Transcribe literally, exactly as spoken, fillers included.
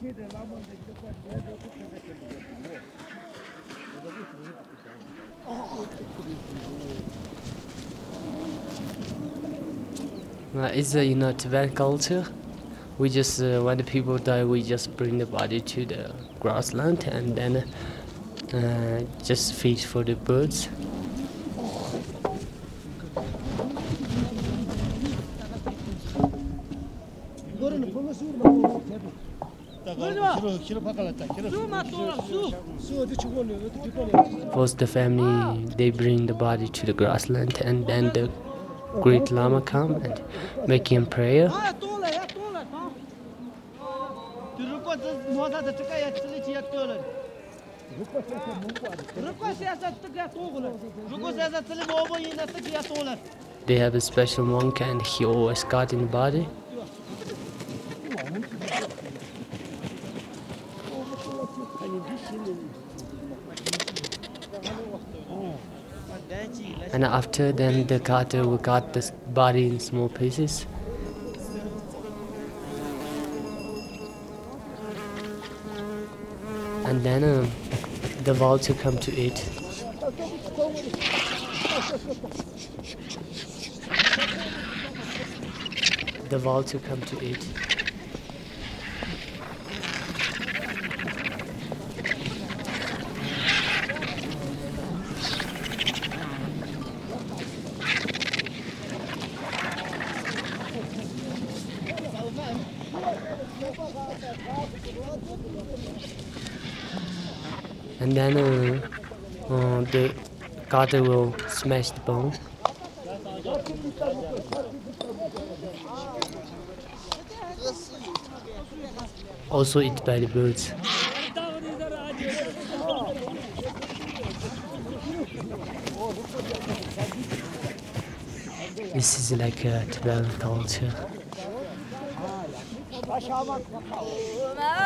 Uh, it's a you know Tibetan culture. We just uh, when the people die, we just bring the body to the grassland and then uh, just feed for the birds. First, the family they bring the body to the grassland, and then the great Lama come and make him prayer. They have a special monk, and he always guard in the body. And after then the cutter will cut the body in small pieces. And then uh, the vulture come to eat. The vulture come to eat. And then uh, uh, the cutter will smash the bone. Also eaten by the birds. This is like a Tibetan culture.